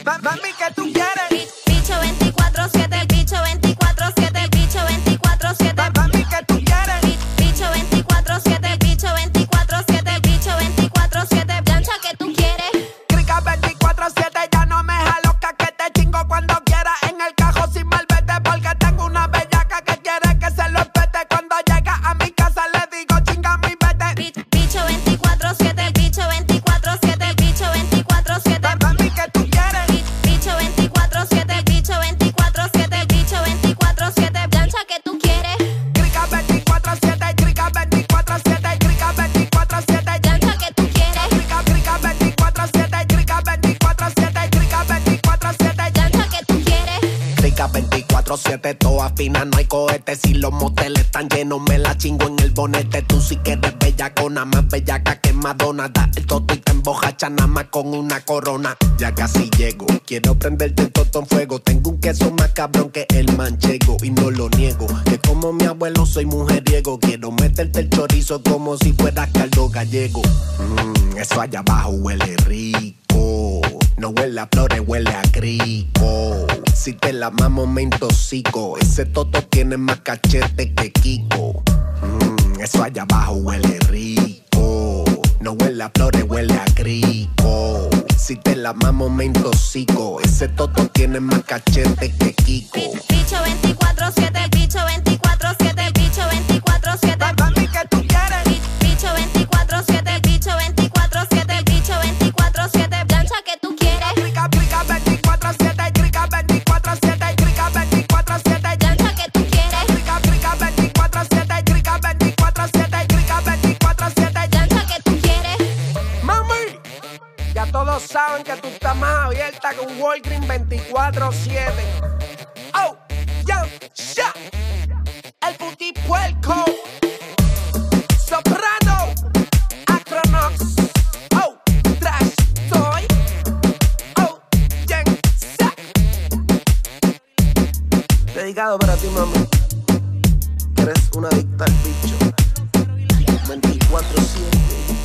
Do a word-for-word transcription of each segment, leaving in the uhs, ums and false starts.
Mami, ¿qué tú quieres? Bicho veinticuatro siete, el bicho veinticuatro siete, el bicho veinticuatro siete. Mami, ¿qué tú quieres? Bicho veinticuatro siete, el bicho veinticuatro siete, el bicho veinticuatro siete. Plancha, ¿qué tú quieres? Crica veinticuatro siete, ya no me jalo que te chingo cuando quiera. En el cajo sin malvete, porque tengo una bellaca que quiere que se lo espete. Cuando llega a mi casa le digo chinga mi vete. Bicho veinticuatro siete, el bicho veinticuatro siete, el bicho veinticuatro siete. Mami, ¿qué tú quieres? Bicho veinticuatro siete, el bicho veinticuatro siete, el bicho veinticuatro siete. Plancha, ¿qué tú quieres? Crica veinticuatro siete, crica veinticuatro siete, crica veinticuatro siete. Plancha, ¿qué tú quieres? Crica, crica veinticuatro siete, crica veinticuatro siete, crica veinticuatro siete. Plancha, ¿qué tú quieres? Crica veinticuatro siete, toda fina, no hay cohetes. Si los moteles están llenos, me la chingo en el bonete. Tú sí que eres bellacona, más bellaca que Madonna. Da el toto y te embojacha nada más con una corona. Ya casi llego, quiero prenderte el toto en fuego. Tengo un queso más cabrón que el manchego y no lo niego, que como mi abuelo soy mujeriego. Quiero meterte el chorizo como si fuera caldo gallego. Mmm, eso allá abajo huele rico. No huele a flores, huele a crico. Si te la mamo me intoxico. Ese toto tiene más cachete que Kiko. Mmm, eso allá abajo huele rico. No huele a flores, huele a crico. Si te la mamo me intoxico. Ese toto tiene más cachete que Kiko. Bicho veinticuatro siete, el bicho veinticuatro siete, el bicho veinticuatro siete. Mami, ¿qué tú quieres? Bicho veinticuatro siete, el bicho veinticuatro siete, el bicho veinticuatro siete. Plancha, ¿qué tú quieres? Crica, crica veinticuatro siete, crica veinticuatro siete, crica veinticuatro siete. Plancha, ¿qué tú quieres? Crica, crica veinticuatro siete, crica veinticuatro siete, crica veinticuatro siete. Plancha, ¿qué tú quieres? Mami, ya todos saben que tú estás más abierta que un Walgreens veinticuatro siete. Oh, ya, ya. El puti puerco. Soprano. Acronox. Oh, trash toy. Oh, ya, ya. Dedicado para ti, mami. Que eres una adicta al bicho. veinticuatro siete.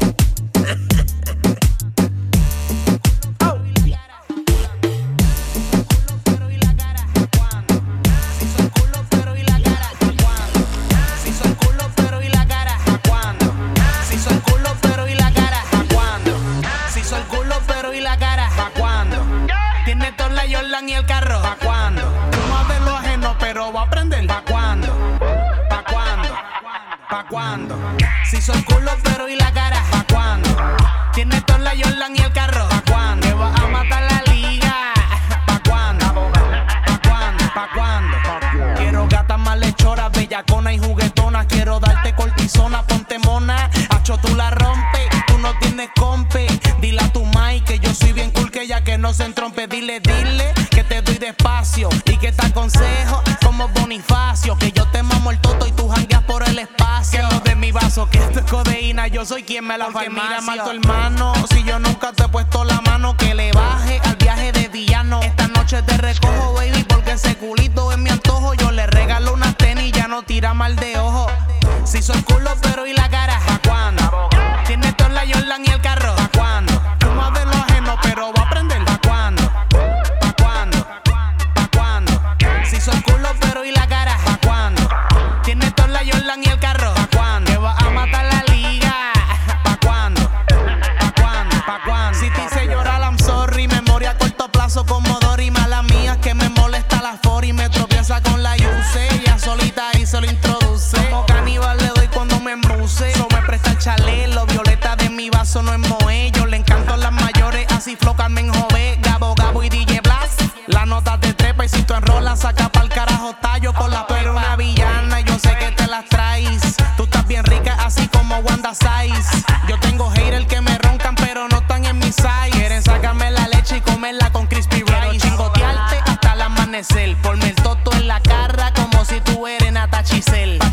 Y el carro, ¿pa' cuándo? No de lo ajeno, pero va a aprender. ¿Pa' cuándo? ¿Pa' cuándo? ¿Pa' cuándo? Si soy culo, pero y la cara, ¿pa' cuándo? Tiene toda la Jordan y el carro, ¿pa' cuándo? Que va a matar la liga, ¿pa' cuándo? ¿Pa' cuándo? ¿Pa' cuándo? Quiero gatas malhechoras, bellaconas y juguetonas. Quiero darte cortisona, ponte mona. Hacho, tú la rompes, tú no tienes compe. Dile a tu mai que yo soy bien cool, que ya que no se entrompe. Dile, dile que te doy despacio y que te aconsejo como Bonifacio. Que yo te mamo el toto y tú jangueas por el espacio. Que no de mi vaso, que esto es codeína, yo soy quien me la farmacia. Mira mal tu hermano, si yo nunca te he puesto la mano. Que le baje al viaje de villano. Esta noche te recojo, baby, porque ese culito es mi antojo. Yo le regalo unas tenis y ya no tira mal de ojo. Si soy culo, pero y la cara, ¿pa' cuándo? Tienes toda la Jordan y el carro, ¿pa' cuándo? Tú más de lo ajeno, pero va a aprender, ¿pa' cuándo? ¿Pa' cuándo? ¿Pa' cuándo? Si soy culo, pero y la cara, ¿pa' cuándo? Tienes toda la Jordan y el carro, ¿pa' cuándo? Que va a matar la liga, ¿pa' cuándo? ¿Pa' cuándo? ¿Pa' cuándo? Si te hice llorar, I'm sorry. Memoria a corto plazo como Dory. Mala mía que me molesta la for y me tropieza con la Yuse. Ella solita y se lo introduce. Como caníbal le doy cuando me embuse. So me presta el chalelo, violeta de mi vaso no es moe. Yo le encanto las mayores, así flow Carmen Jové. Gabo, Gabo y D J Blast. La nota te trepa y si tú enrolas, saca pa'l carajo tallo con la pero una villana. Yo sé que te las traes. Tú estás bien rica, así como Wanda Size. Yo tengo haters que me roncan, pero no están en mi size. Quieren sacarme la leche y comerla con crispy rice. Quiero chingotearte hasta el amanecer. Ponme el toto en la cara como si tú eres Nata Chisel.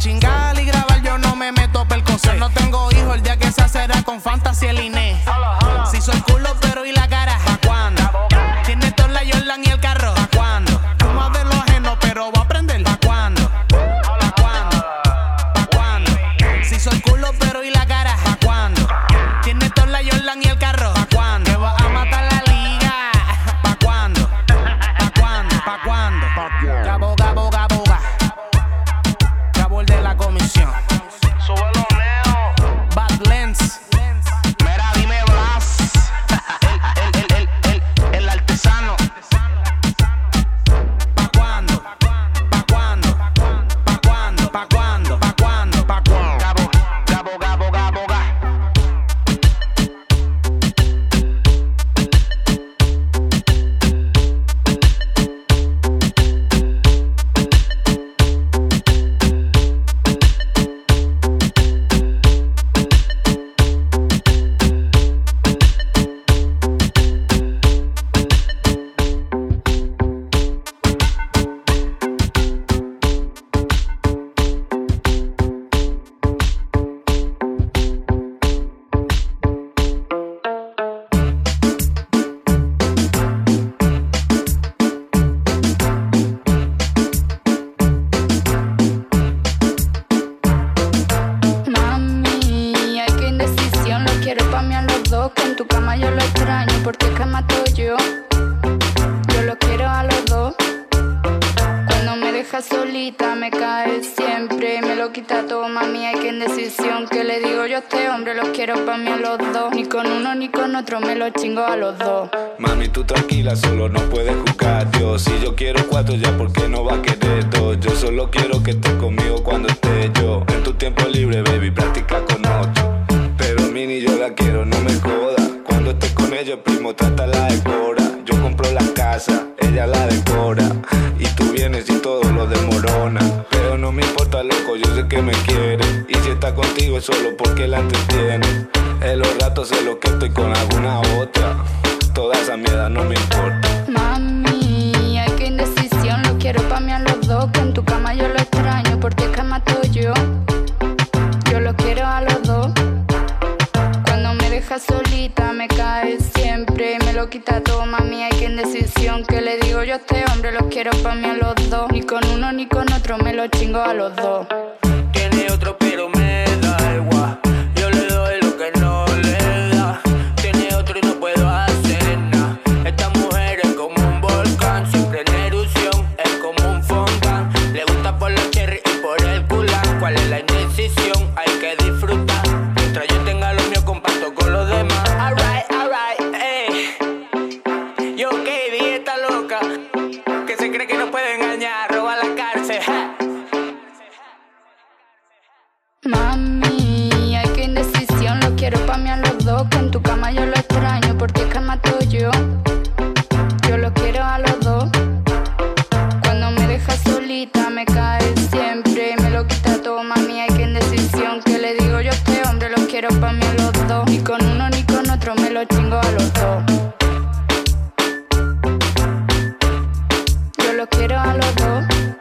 cae siempre. Me lo quita todo, mami, hay que en decisión. Que le digo yo a este hombre, los quiero pa' mí a los dos. Ni con uno ni con otro me lo chingo a los dos. Mami, tú tranquila, solo no puedes juzgar Dios. Si yo quiero cuatro ya, ¿por qué no va a querer dos? Yo solo quiero que estés conmigo cuando esté yo. En tu tiempo libre, baby, practica con otro. Pero mini yo la quiero, no me joda. Cuando estés con ella, primo, trátala de cora. Yo compro la casa, ella la decora. Y tú vienes y todo lo desmorona. Pero no me importa, loco, yo sé que me quiere. Y si está contigo es solo porque la entretiene. En los ratos sé lo que estoy con alguna otra. Toda esa mierda no me importa. Mami, hay que indecisión. Lo quiero pa' mí a los dos. Que en tu cama yo lo extraño. Por ti es que mato yo. Yo lo quiero a los dos. Cuando me dejas solita me cae siempre. Me lo quita todo, mami, hay que indecisión. Que le digo yo a este hombre, los quiero pa' mí a los dos. Ni con uno ni con otro me lo chingo a los dos. Tiene otro pero me da igual. Yo le doy lo que no le da. Tiene otro y no puedo hacer nada. Esta mujer es como un volcán, siempre en erupción, es como un fontán. Le gusta por los cherry y por el culán. ¿Cuál es la indecisión? Hay que disfrutar. Mientras yo tenga lo mío, comparto con los demás. Alright, alright, ey. Yo, Katie, está loca, que se cree que no puede engañar, roba la cárcel, ja. Mami, hay que indecisión. Lo quiero pa' mí a los dos. Que en tu cama yo lo extraño. Por ti es que mato yo. Yo lo quiero a los dos. Cuando me dejas solita me cae siempre. Me lo quita todo, mami, hay que indecisión. Que le digo yo a este hombre, los quiero pa' mí a los dos. Ni con uno ni con otro me lo chingo a los dos. Yo lo quiero a los dos.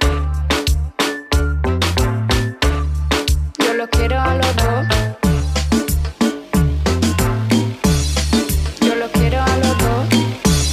Yo lo quiero a los dos. Yo lo quiero a los dos.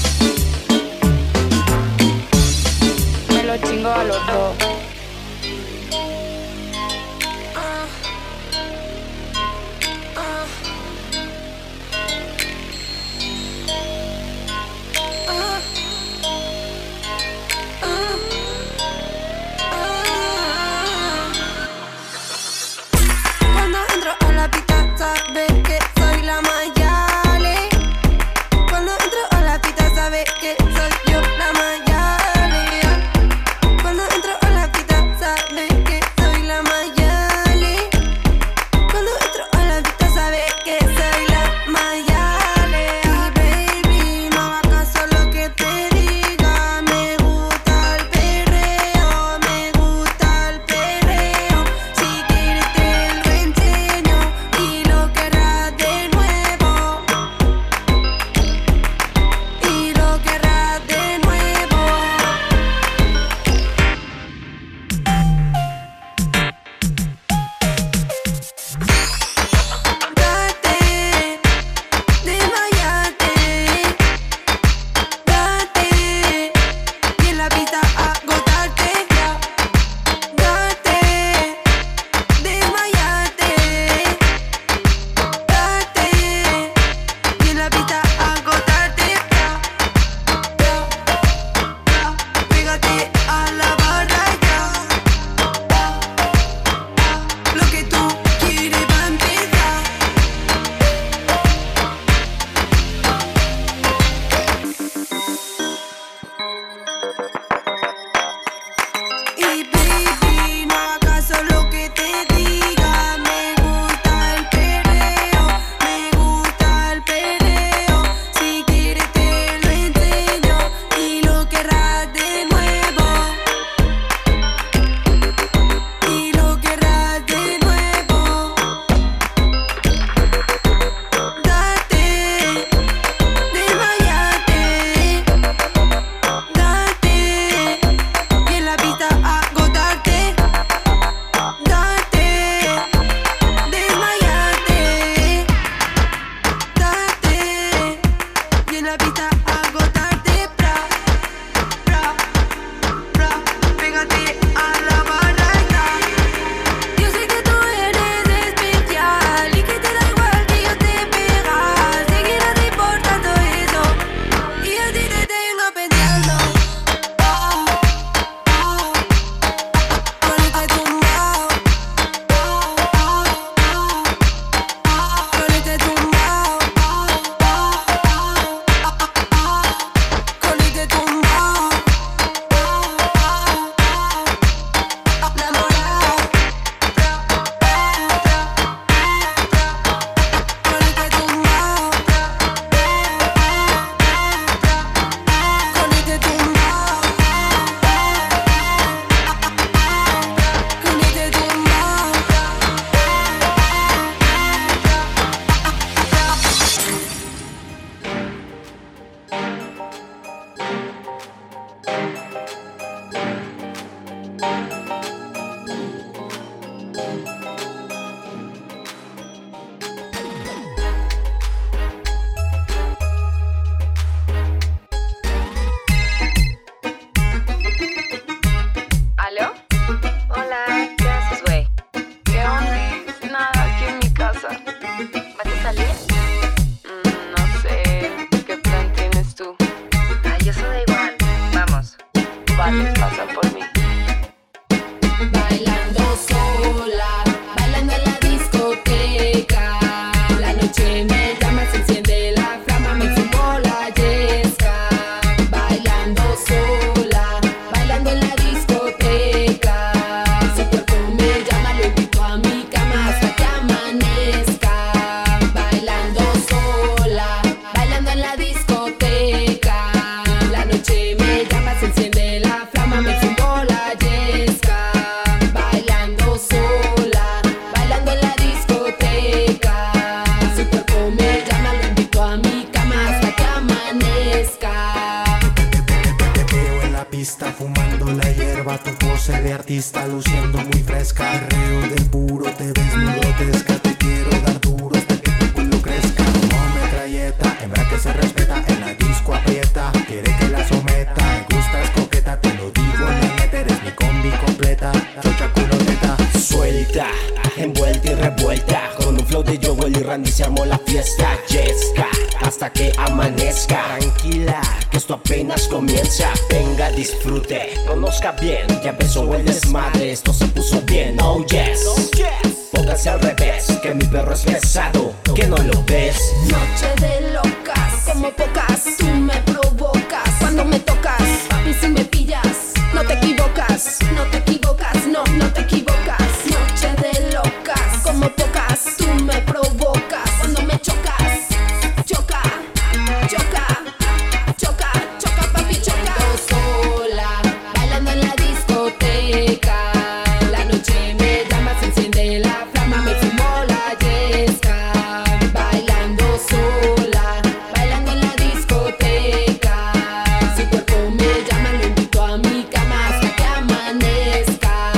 pista luciendo muy fresca. Perreo de puro, te ves muy grotesca. Te quiero dar duro hasta que tu culo crezca. Como metralleta, hembra que se respeta. En la disco aprieta, quiere que la someta. Me gustas coqueta, te lo digo, neta. Eres mi combi completa. Chocha culo neta. Suelta, envuelta y revuelta. Con un flow de Joel y Randy se armó la fiesta. Yesca, hasta que amanezca. Tranquila, que esto apenas comienza. Venga, disfrute, conozca bien. Ya empezó el desmadre, esto se puso bien. Oh yes, póngase al revés, que mi perro es pesado, que no lo ves. Noche de locas, como pocas. Tú me provocas cuando me tocas. Papi, si me pillas, no te equivocas. No te equivocas, no, no te equivocas. Noche de locas, como pocas. Tú me provocas cuando me chocas. Choca, choca, choca, choca, papi, choca. Sola, bailando en la discoteca. La noche me llama, se enciende la flama, me fumo la yesca. Bailando sola, bailando en la discoteca. Su cuerpo me llama, lo invito a mi cama hasta que amanezca.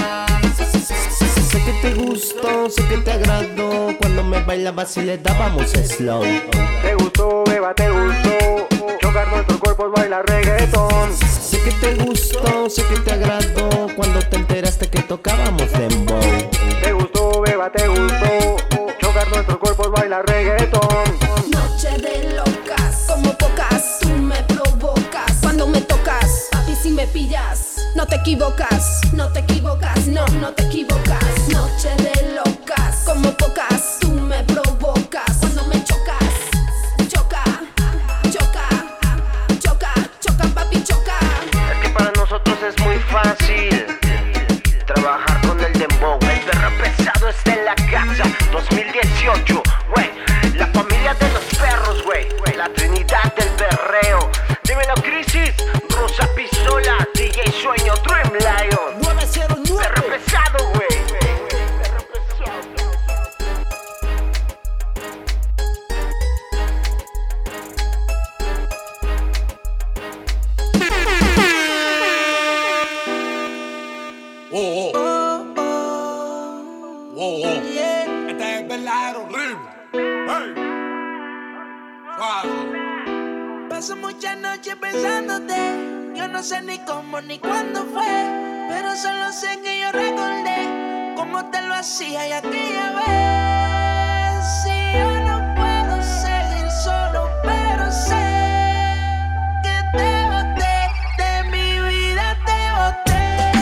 Sé que te gustó, sé que te agradó. Cuando me bailabas y le dábamos slow. Te gustó, beba, te gustó. Chocar nuestros cuerpos, baila reggaetón. Sé que te gustó, sé que te agradó. Cuando te enteraste que tocábamos dembow. Te gustó, beba, te gustó. Chocar nuestros cuerpos, baila reggaetón. Noche de locas, como pocas. Tú me provocas cuando me tocas. Papi, si me pillas, no te equivocas. No te equivocas, no, no te equivocas. Noche de locas, como pocas. Tú me provocas cuando me chocas. Choca, choca, choca, choca, papi, choca. Es que para nosotros es muy fácil trabajar con el dembow. El perro pesado está en la casa. dos mil dieciocho, güey. La familia de los perros, güey. La trinidad del perreo. Dímelo, Crisis. Rosa Pistola, D J Sueño, Dream Lion. nueve cero nueve. Perro pesado, güey. Perro pesado. Oh, oh. Oh, oh. Este es el verdadero ritmo. Hey. Suave. Paso muchas noches pensándote. Yo no sé ni cómo ni cuándo fue, pero solo sé que yo recordé cómo te lo hacía y aquella vez. Si yo no puedo seguir solo, pero sé que te boté, de mi vida te boté.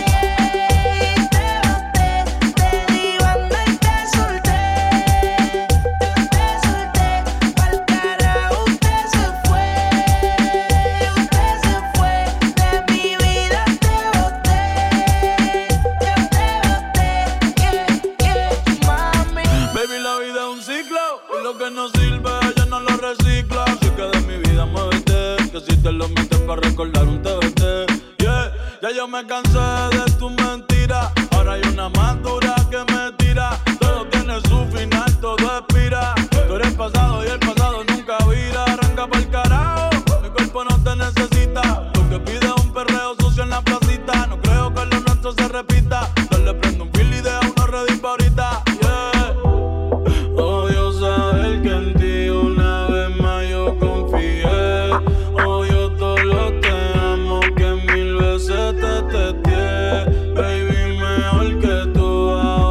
Que no sirve, ella no lo recicla. Así que de mi vida muévete, que si te lo metes para recordar un T V T. Yeah, ya yo me cansé de tu mentira. Ahora hay una más dura que me tira. Todo tiene su final, todo expira. Tú eres pasado y el pasado nunca vira. Arranca pa'l carajo, mi cuerpo no te necesita. Lo que pide es un perreo sucio en la placita. No creo que lo nuestro se repita. Yo le prendo un fil y deja uno ready pa' ahorita. Yeah. Odio saber que en ti una vez más yo confié. Odio todo lo te amo que mil veces te testé. Baby, mejor que tú ahora.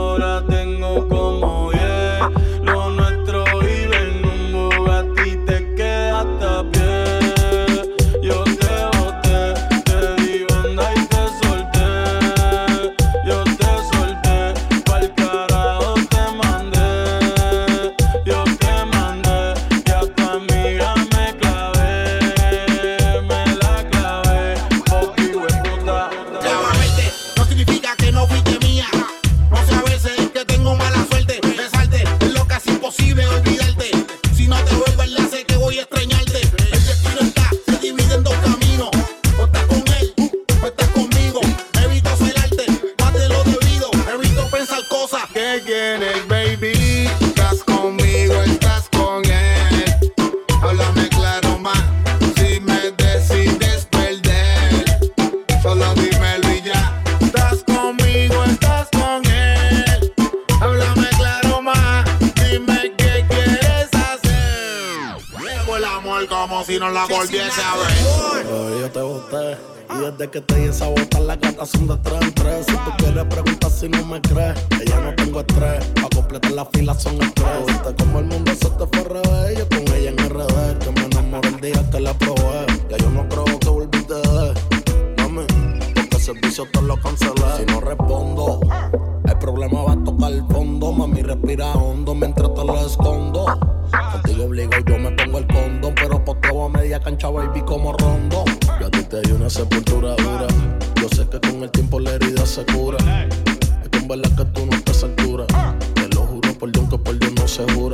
si no la volviese a ver. Pero yo te boté. Y desde que te hice botar las gatas son de tres en tres. Si tú quieres preguntar si no me crees, que ya no tengo estrés. Pa' completar la fila son estrés. Viste como el mundo se te fue al revés. Yo con ella en R D, que me enamoré el día que la probé. Ya yo no creo que volviste de mami, porque el servicio te lo cancelé. Si no respondo, el problema va a tocar el fondo. Mami, respira hondo mientras te lo escondo. Contigo obligo y yo me pongo el condón, pero posteo a media cancha, baby, como Rondo. Yo a ti te di una sepultura dura. Yo sé que con el tiempo la herida se cura. Es que en verdad que tú no estás a altura. Te lo juro por Dios que por Dios no se jura.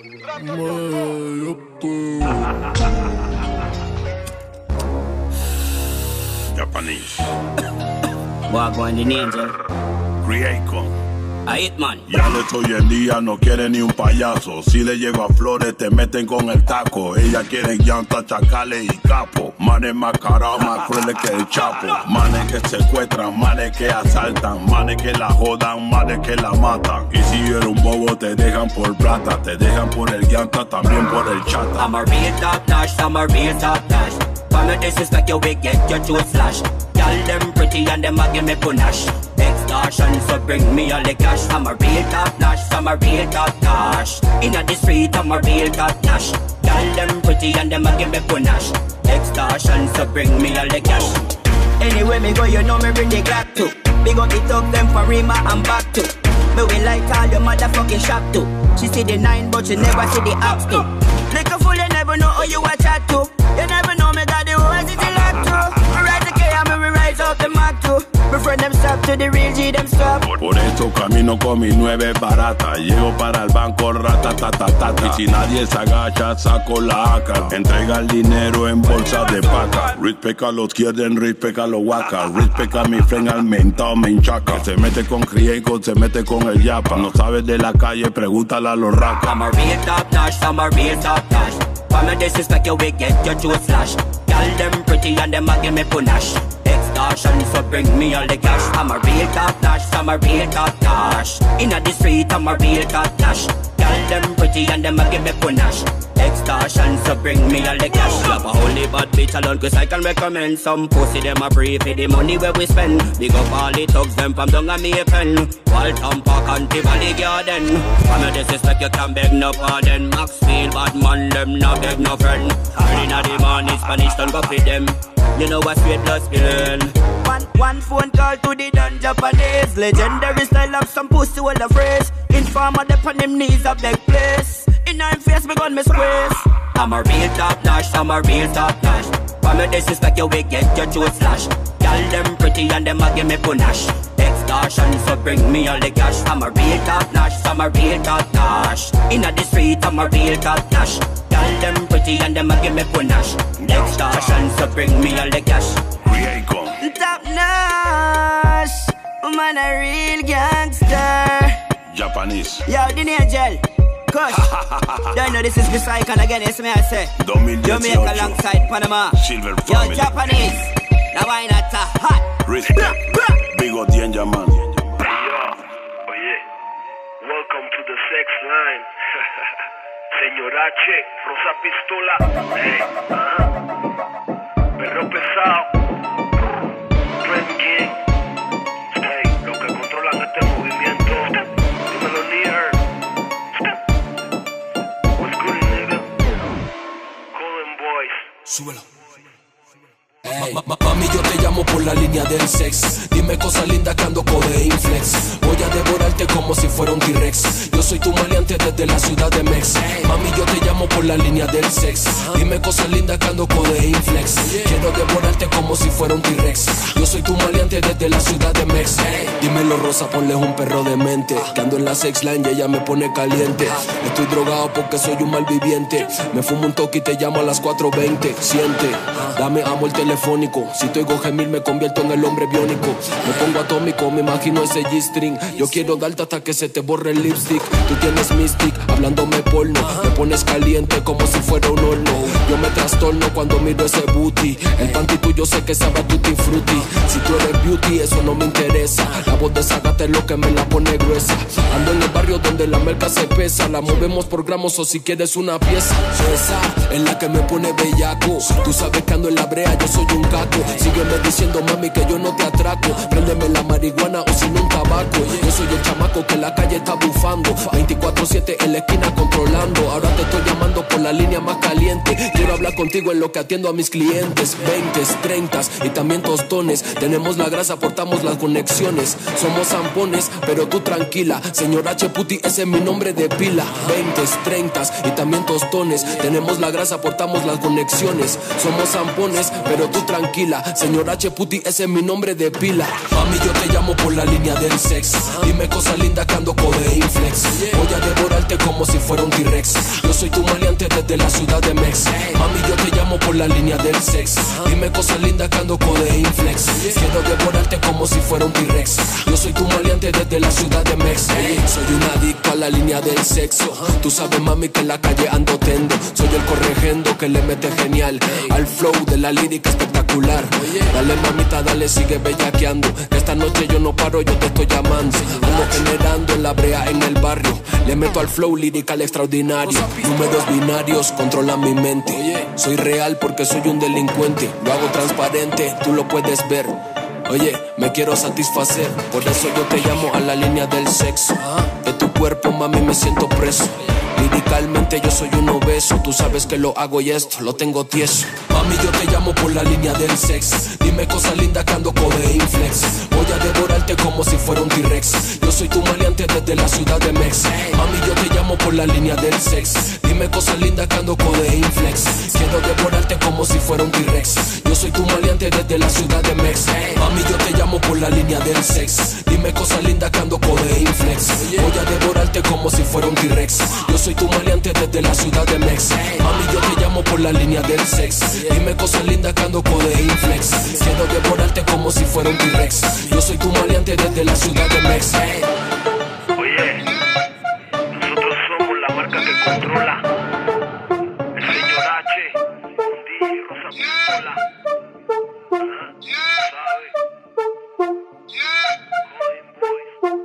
Japanese. Wagwan the Angel. Creacon. A Hitman. Ya les hoy en día no quiere ni un payaso. Si le llego a flores te meten con el taco. Ella quiere llanta, chacales y capo. Manes más carados, más crueles que el Chapo. Manes que secuestran, manes que asaltan. Manes que la jodan, manes que la matan. Y si eres un bobo te dejan por plata. Te dejan por el llanta, también por el chata. I'm a real top notch, I'm a real top notch. When me disrespect you, we get your truth flash. Y'all them pretty and them a give me panache. Extortion, so bring me all the cash. I'm a real top notch, I'm a real top notch. Inna the street, I'm a real top notch. Y'all them pretty and them a give me panache. Extortion, so bring me all the cash. Anyway me go, you know me bring the Glock too. Big up the talk them for Rima and back too. Me we like all your motherfucking shop too. She see the nine but she never see the ops too. Like a fool, you never know who you a chat to. You never know me got the words it's a lot too. Me rise the K and me rise up the Mac too. My friend them stop to the real G them stop. Por eso camino con mi nueve barata. Llego para el banco ratatatata. Y si nadie se agacha saco la A K. Entrega el dinero en bolsa de paca. Respect a los quieren, respect a los waka. Respect a mi friend al mentao me hinchaca. Se mete con Crieco, se mete con el yapa. No sabes de la calle, pregúntale a los racas. I'm a real top notch, I'm a real top notch. When me disrespect you, we get your truth flash. Y'all them pretty and them a give me panache. Extortion, so bring me all the cash. I'm a real top notch, I'm a real top notch. Inna the street, I'm a real top notch. Y'all them pretty and them a give me panache. Extortion, so bring me all the cash. Slap a holy bad bitch alone, cause I can recommend some pussy them a free for the money where we spend. Big up all the thugs them from down a me pen. Walton Park and Tivoli Garden. When me disrespect you can beg no pardon. Maxfield bad man them no beg no friend. Early in the morning Spanish don't go feed them. You know what sweet blood spilling. One, one phone call to the done Japanese. Legendary style of some pussy with a phrase. Informer dep on him knees a big place. In her face me gun me squeeze. I'm a real top notch, I'm a real top notch. When me disrespect you we get your truth flash. Y'all them pretty and them a give me panache. Extortion, so bring me all the cash. I'm a real top notch, I'm a real top notch. Inna the street, I'm a real top notch. Y'all them pretty and them a give me panache. Extortion, so bring me all the cash. Top notch, man a real gangster. Japanese. Yo, the Angel. Kush. Don't know this is the cycle again, it's me I say. Jamaica alongside Panama. Silver family. Yo, Japanese. Now why not a hot? Respect. Big O Danger man. Yo, oye, welcome to the sex line. Señora H, Rosa Pistola. Hey, uh-huh. Perro pesado. Trend King. Hey, los que controlan este movimiento. Dímelo, Lear. What's good, nigga? Colin Boys. Súbelo. Hey. Ma -ma Mami, yo te llamo por la línea del sex. Dime cosas lindas que ando Codeín Flex. Voy a devorarte como si fuera un T-Rex. Yo soy tu maleante desde la ciudad de Mex. Mami, yo te llamo por la línea del sex. Dime cosas lindas que ando Codeín Flex. Quiero devorarte como si fuera un T-Rex. Yo soy tu maleante desde la ciudad de Mex. Dímelo, Rosa, ponle un perro de mente. Que ando en la sex line y ella me pone caliente. Estoy drogado porque soy un malviviente. Me fumo un toque y te llamo a las cuatro veinte. Siente, dame amo el telefónico. Si te oigo gemir me convierto en el hombre biónico. Me pongo atómico, me imagino ese G-string. Yo quiero darte hasta que se te borre el lipstick. Tú tienes mystic, hablándome porno. Me pones caliente como si fuera un horno. Yo me trastorno cuando miro ese booty. El panty tuyo sé que sabe a tutti frutti. Si tú eres beauty, eso no me interesa. La voz de Zagata es lo que me la pone gruesa. Ando en el barrio donde donde la merca se pesa. La movemos por gramos o si quieres una pieza. Esa es la que me pone bellaco. Tú sabes que ando en la brea, yo soy un caco. Sígueme diciendo, mami, que yo no te atraco. Préndeme la marihuana o si no un tabaco. Yo soy el chamaco que en la calle está bufando. veinticuatro siete en la esquina controlando. Ahora te estoy llamando por la línea más caliente. Quiero hablar contigo en lo que atiendo a mis clientes. Veinte, treinta y también tostones. Tenemos la grasa, portamos las conexiones. Somos zampones, pero tú tranquila. Señor H. Puti, ese es mi nombre de pila. Veinte, treinta y también tostones. Tenemos la grasa, portamos las conexiones. Somos zampones, pero tú tranquila. Señor H. Puti, ese es mi nombre de pila. Mami, yo te llamo por la línea del sexo. Dime cosas lindas que ando de inflex. Voy a devorarte como si fuera un T-Rex. Yo soy tu maleante desde la ciudad de Mex. Mami, yo te llamo por la línea del sex. Dime cosas lindas que ando de inflex. Quiero devorarte como si fuera un T-Rex. Yo soy tu maleante desde la ciudad de Mex. Soy un adicto a la línea del sexo. Tú sabes, mami, que en la calle ando tendo. Soy el corregendo que le mete genial al flow de la lírica espectacular. Dale, mamita, dale, sigue bellaqueando. Que esta noche yo no paro, yo te estoy llamando. Ando generando en la brea en el barrio. Le meto al flow lirical extraordinario. Números binarios controlan mi mente. Soy real porque soy un delincuente. Lo hago transparente, tú lo puedes ver. Oye, me quiero satisfacer. Por eso yo te llamo a la línea del sexo. De tu cuerpo, mami, me siento preso. Liricalmente yo soy un obeso. Tú sabes que lo hago y esto lo tengo tieso. Mami, yo te llamo por la línea del sex. Dime cosas lindas que ando de inflex. Voy a devorarte como si fuera un T-Rex. Yo soy tu maleante desde la ciudad de Mex. Mami, yo te llamo por la línea del sex. Dime cosas lindas que ando de inflex. Quiero devorarte como si fuera un T-Rex. Yo soy tu maleante desde la ciudad de Mex. Mami, yo te llamo por la línea del sex. Dime cosas lindas que ando de inflex. Voy a devorarte como si fuera un T-Rex. Yo soy tu maleante desde la ciudad de Mex. Mami, yo te llamo por la línea del sex. Dime cosas lindas que ando de inflex. Quiero devorarte como si fuera un T-Rex. Yo soy tu maleante desde la ciudad de Mex. Oye, nosotros somos la marca que controla. El señor H, un D J Rosa Pistola. Ajá, ¿sabes? Golden Boys.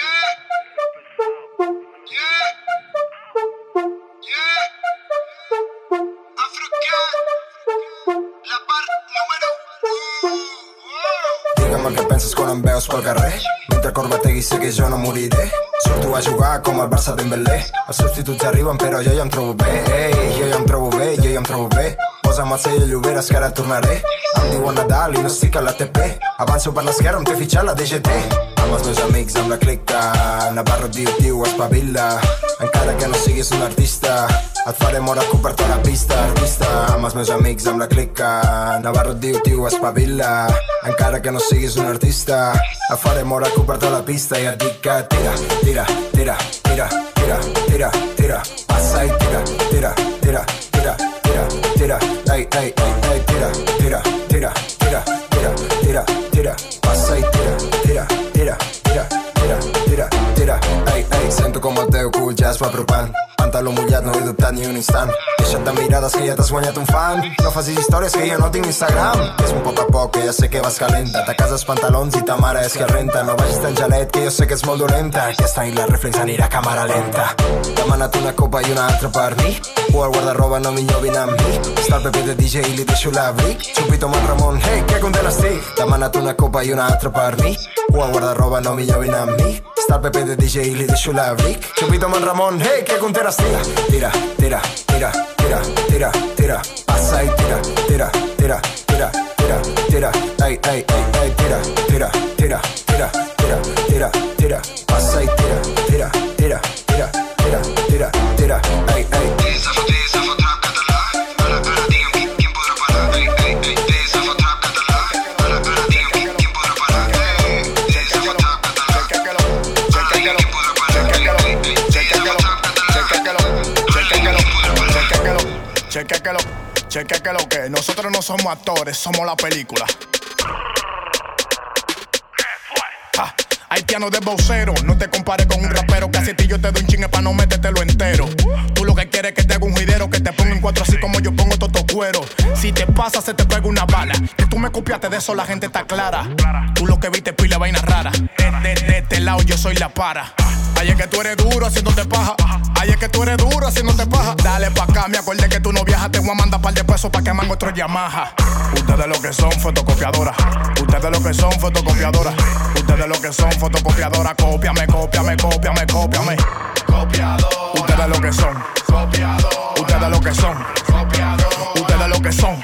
Digue'm què penses quan em veus pel carrer. Mentre corbategui sé que jo no moriré. Surto a jugar com el Barça Dembélé. Els substituts arriben però jo ja em trobo bé. Ei, jo ja em trobo bé, jo ja em trobo bé. Posa'm el sell a Lloberes que ara tornaré. Em diuen Nadal i no estic a la T P. Avanço per l'esquerra, em té fitxat la D G T. Amb els meus amics, amb la clica. Navarro diu, diu, espavila. Encara que no siguis un artista, et faré mort a per la pista, artista. Amb els meus amics, amb la clica. Navarro diu, diu, espavila. Encara que no siguis un artista, et faré mort a per la pista. I et dic que tira, tira, tira, tira, tira, tira, tira. Passa i tira, tira, tira, tira, tira, tira. Ei, ei, ei, ei, tira, tira, tira, tira, tira, tira, tira. Passa i tira, tira, tira, tira, tira, tira, tira. Ei, ei, sento com el teu cul ja es va apropant. Pantaló mullat, no he dubtat ni un instant. Deixa't de mirades que ja t'has guanyat un fan. No facis històries que jo no tinc Instagram. És un poc a poc que ja sé que vas calenta. Ta casa els pantalons i ta mare és que renta. No vagis tan gelet que jo sé que ets molt dolenta. Aquesta nit la reflex anirà a càmera lenta. Demanat una copa i una altra per mi. O al guardarroba no millor vine amb mi. Està el Pepe de D J i li deixo l'abric. Xupito amb el Ramon, hey, que content estic. Demanat una copa i una altra per mi. O al guardarroba no millor vine amb mi. Està el Pepe de D J i li deixo l'abric. Xupito amb el Ramon, hey, que content estic. Tira, tira, tira, tira, tira, tira. Passa i tira, tira, tira, tira, tira, tira. Ei, ei, ei, ei, tira, tira, tira, tira, tira, tira, tira. Passa i tira, tira, tira, tira, tira, tira, tira. Ei, ei. Cheque que lo, cheque que lo que nosotros no somos actores, somos la película. Ah, haitiano de vocero, no te compares con un rapero que así ti yo te doy un chingue pa' no metértelo entero. Tú lo que quieres es que te haga un juidero, que te ponga en cuatro así como yo pongo todo cuero. Si te pasa se te pega una bala, que tú me copiaste de eso la gente está clara. Tú lo que viste pila vaina rara, de, de, de este lado yo soy la para. Ay, es que tú eres duro haciéndote paja. Ay, es que tú eres duro haciéndote paja. Dale pa' acá, me acordé que tú no viajas. Te voy a mandar par de pesos pa' que mango otro Yamaha. Ustedes lo que son fotocopiadoras. Ustedes lo que son fotocopiadoras. Ustedes lo que son fotocopiadoras. Cópiame, cópiame, cópiame, cópiame. Copiador. Ustedes lo que son. Copiador. Ustedes lo que son. Copiador. Ustedes lo que son.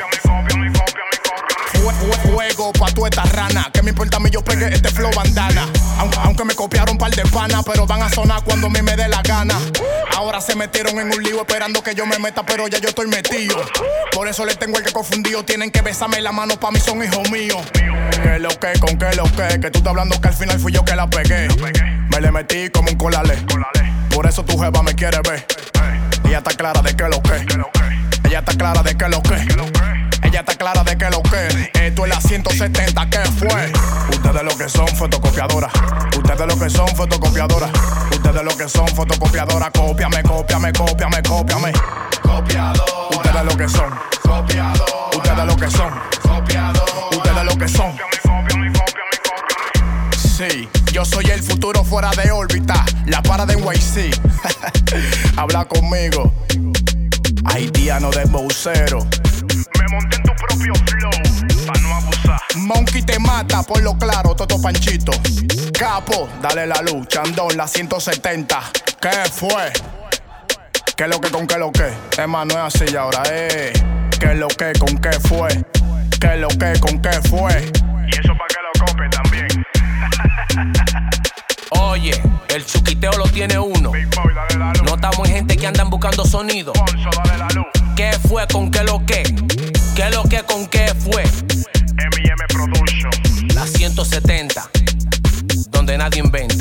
Fuego pa' tu esta rana. Que me importa a mí, yo pegué este flow bandana. Aunque, aunque me copiaron par de panas, pero van a sonar cuando a mí me dé la gana. Ahora se metieron en un lío esperando que yo me meta, pero ya yo estoy metido. Por eso les tengo el que confundido. Tienen que besarme la mano, pa' mí son hijos míos. Que lo que, con que lo que. Que tú estás hablando que al final fui yo que la pegué. Me le metí como un colale. Por eso tu jeva me quiere ver. Ella está clara de que lo que. Ella está clara de que lo que. Ella está clara de que lo que. Esto es la ciento setenta, ¿qué fue? Ustedes lo que son fotocopiadoras. Ustedes lo que son fotocopiadoras. Ustedes lo que son fotocopiadoras. Cópiame, cópiame, cópiame, cópiame. Copiador. Ustedes lo que son. Copiador. Ustedes lo que son. Copiador. Ustedes lo que son. Sí, yo soy el futuro fuera de órbita. La para de N Y C. Habla conmigo. Haitiano de vocero. Me monté en tu propio flow, pa' no abusar. Monkey te mata, por lo claro, Toto Panchito. Capo, dale la luz, Chandón, la ciento setenta. ¿Qué fue? ¿Qué lo que con qué lo que? Es más, no es así ahora, eh. ¿Qué lo que con qué fue? ¿Qué lo que con qué fue? Y eso pa' que lo copie también. Oye, el chuquiteo lo tiene uno. Big Boy, dale la luz. No estamos en gente que andan buscando sonido. Ponzo, dale la luz. ¿Qué fue con qué lo que? ¿Qué lo que con qué fue? M y M Production. La ciento setenta, donde nadie inventa.